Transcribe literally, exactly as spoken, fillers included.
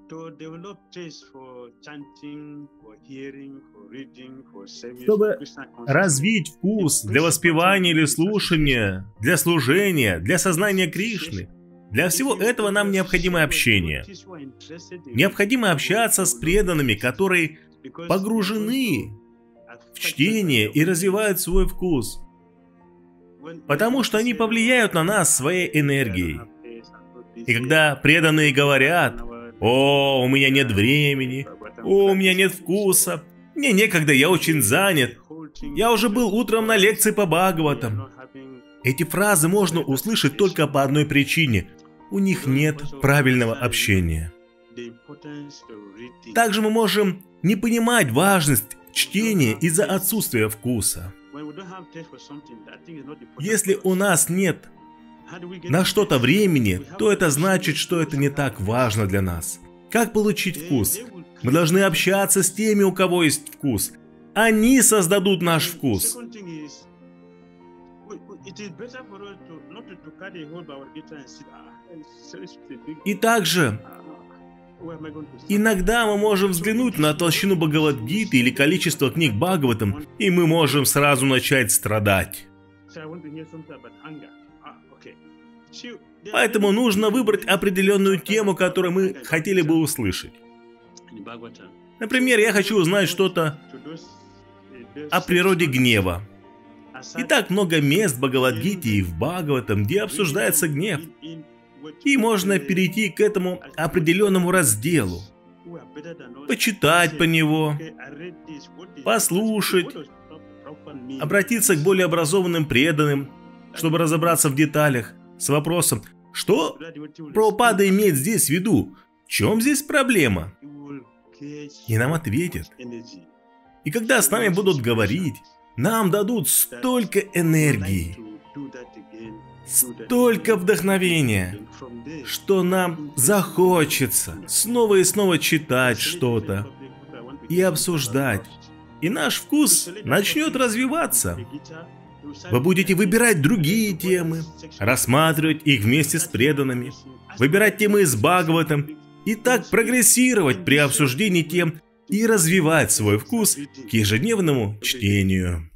Чтобы развить вкус для воспевания или слушания, для служения, для сознания Кришны, для всего этого нам необходимо общение. Необходимо общаться с преданными, которые погружены в чтение и развивают свой вкус, потому что они повлияют на нас своей энергией. И когда преданные говорят: «О, у меня нет времени, о, у меня нет вкуса, мне некогда, я очень занят, я уже был утром на лекции по Бхагаватам». Эти фразы можно услышать только по одной причине: у них нет правильного общения. Также мы можем не понимать важность чтения из-за отсутствия вкуса. Если у нас нет на что-то времени, то это значит, что это не так важно для нас. Как получить вкус? Мы должны общаться с теми, у кого есть вкус. Они создадут наш вкус. И также иногда мы можем взглянуть на толщину Бхагавад-гиты или количество книг Бхагаватам, и мы можем сразу начать страдать. Поэтому нужно выбрать определенную тему, которую мы хотели бы услышать. Например, я хочу узнать что-то о природе гнева. И так много мест в Бхагавад-гите и в Бхагаватам, где обсуждается гнев. И можно перейти к этому определенному разделу, почитать по него, послушать, обратиться к более образованным преданным, чтобы разобраться в деталях, с вопросом: что Прабхупада имеет здесь в виду? В чем здесь проблема? И нам ответят. И когда с нами будут говорить, нам дадут столько энергии, столько вдохновения, что нам захочется снова и снова читать что-то и обсуждать. И наш вкус начнет развиваться. Вы будете выбирать другие темы, рассматривать их вместе с преданными, выбирать темы из Бхагаватам и так прогрессировать при обсуждении тем и развивать свой вкус к ежедневному чтению.